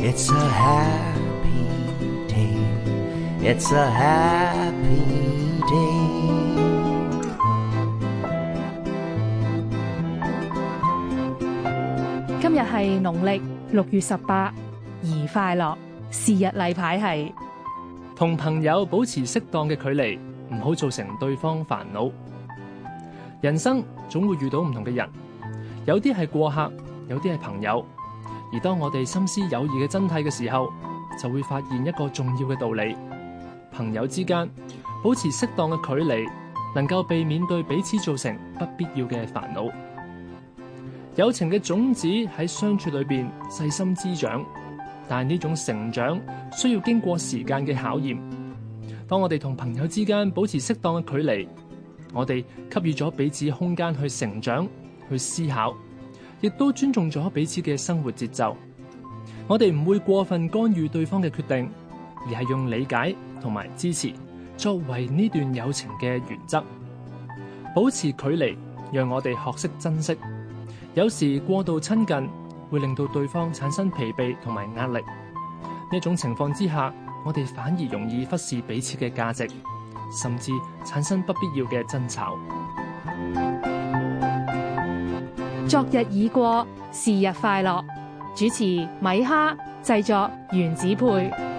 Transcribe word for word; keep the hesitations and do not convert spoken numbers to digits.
It's a happy day. It's a happy day. 今日係農曆六月十八，宜快樂。是日例牌係同朋友保持適當嘅距離，唔好造成對方煩惱。人生總會遇到唔同嘅人，有啲係過客，有啲係朋友。而當我哋深思友誼嘅真諦嘅時候，就會發現一個重要嘅道理：朋友之間保持適當嘅距離，能夠避免對彼此造成不必要嘅煩惱。友情嘅種子喺相處裏邊細心滋長，但係呢種成長需要經過時間嘅考驗。當我哋同朋友之間保持適當嘅距離，我哋給予咗彼此空間去成長、去思考，亦都尊重咗彼此嘅生活節奏。我哋唔會過分干預對方嘅決定，而係用理解同埋支持作為呢段友情嘅原則。保持距離，讓我哋學識珍惜。有時過度親近會令到對方產生疲憊同埋壓力。呢種情況之下，我哋反而容易忽視彼此嘅價值，甚至產生不必要嘅爭吵。 昨日已過，是日快樂。主持米哈，製作原子配。